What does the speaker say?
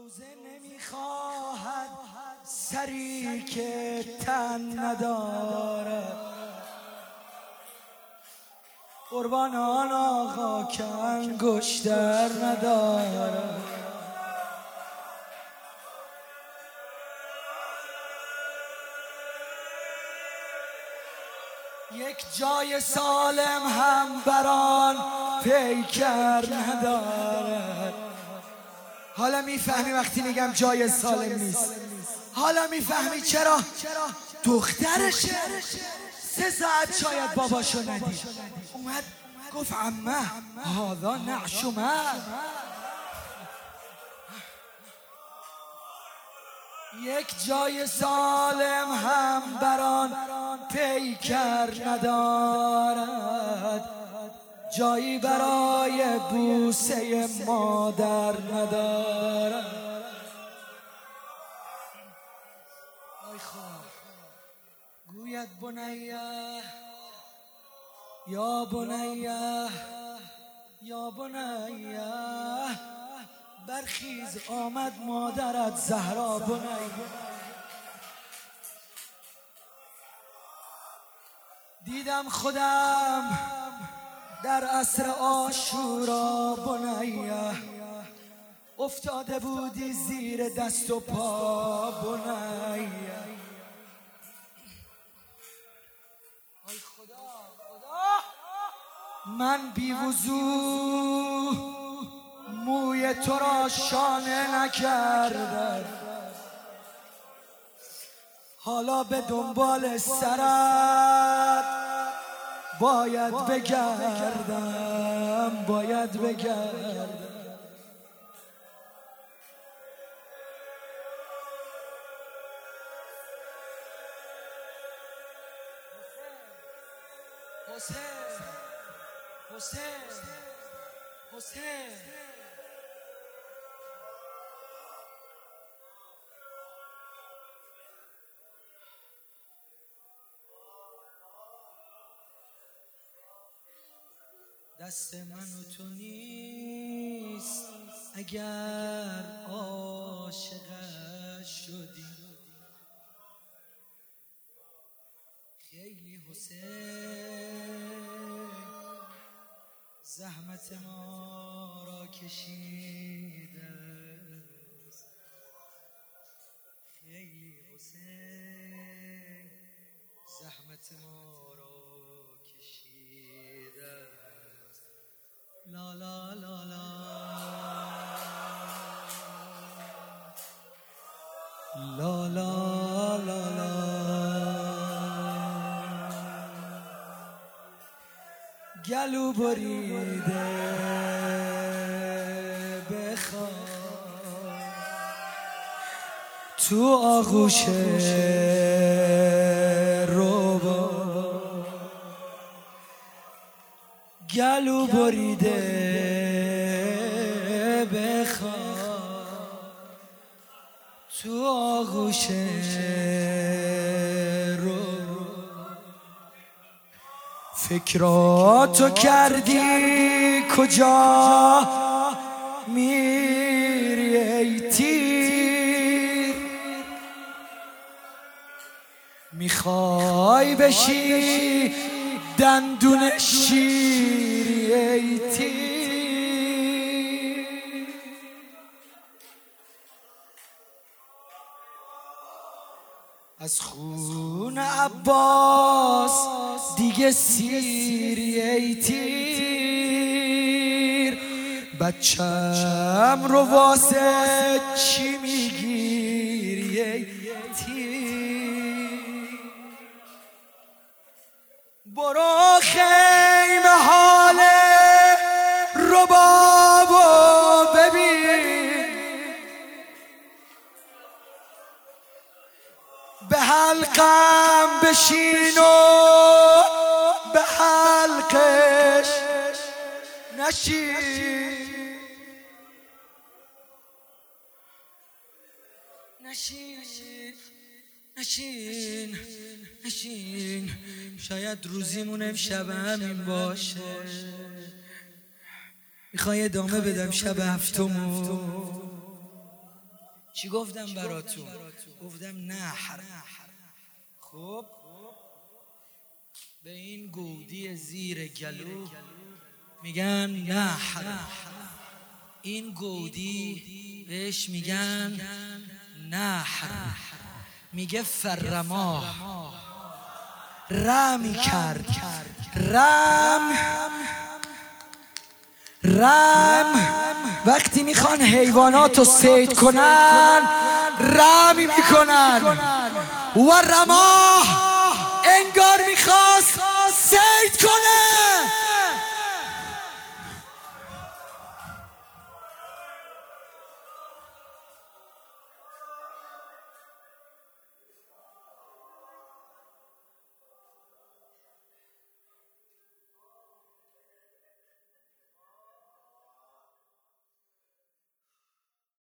روزه نمیخواهد سری که تن ندارد، قربان آن آقا که انگشتر ندارد. یک جای سالم هم بران پیکر ندارد. حالا میفهمی وقتی میگم جای سالم نیست؟ حالا میفهمی چرا دخترشه 3 ساعت شاید باباشو ندید، اومد گفت عمه هذا نعشمه. یک جای سالم هم بران پیکر ندارد، جایی برای بوسه مادر ندارد. آی خواه گوید بنیه یا بنیه یا بنیه، برخیز آمد مادرت زهرا بنیه. دیدم خودم در عصر عاشورا بنیه، افتاده بودی زیر دست و پا بنیه. ای خدا من بی وضو موی تو را شانه نکردم، حالا به دنبال سرت باید بگردم، باید بگردم. حسین حسین حسین دست من و تو نیست اگر عاشقش شدی. خیلی حسین زحمت ما را کشیده، خیلی حسین زحمت ما را کشیده. لا لا لا لا لا لا لا لا گلو بریده بخواه تو آغوش روبا، گلو بریده بخواه تو آغوش فکراتو کردی کجا میری ای تیر، میخوای بشی دندون شیری ای تیر. از خون عباس دیگه سیری ای تیر، بچم رو واسه چی میگیری ای تیر. برو خیمه حال ربابو ببین، به حلقم بشین و به حلقش نشین، نشین نشین نشین. شاید روزیمون امشب همین باشه. میخوای ادامه بدم شب هفتمو؟ چی گفتم براتون؟ گفتم نحر. خب به این گودی زیر گلو میگن نحر. این گودی بهش میگن نحر. میگه فرما رمی کرد. رم وقتی میخوان حیوانات رو صید کنن رمی میکنن. و رما انگار میخواست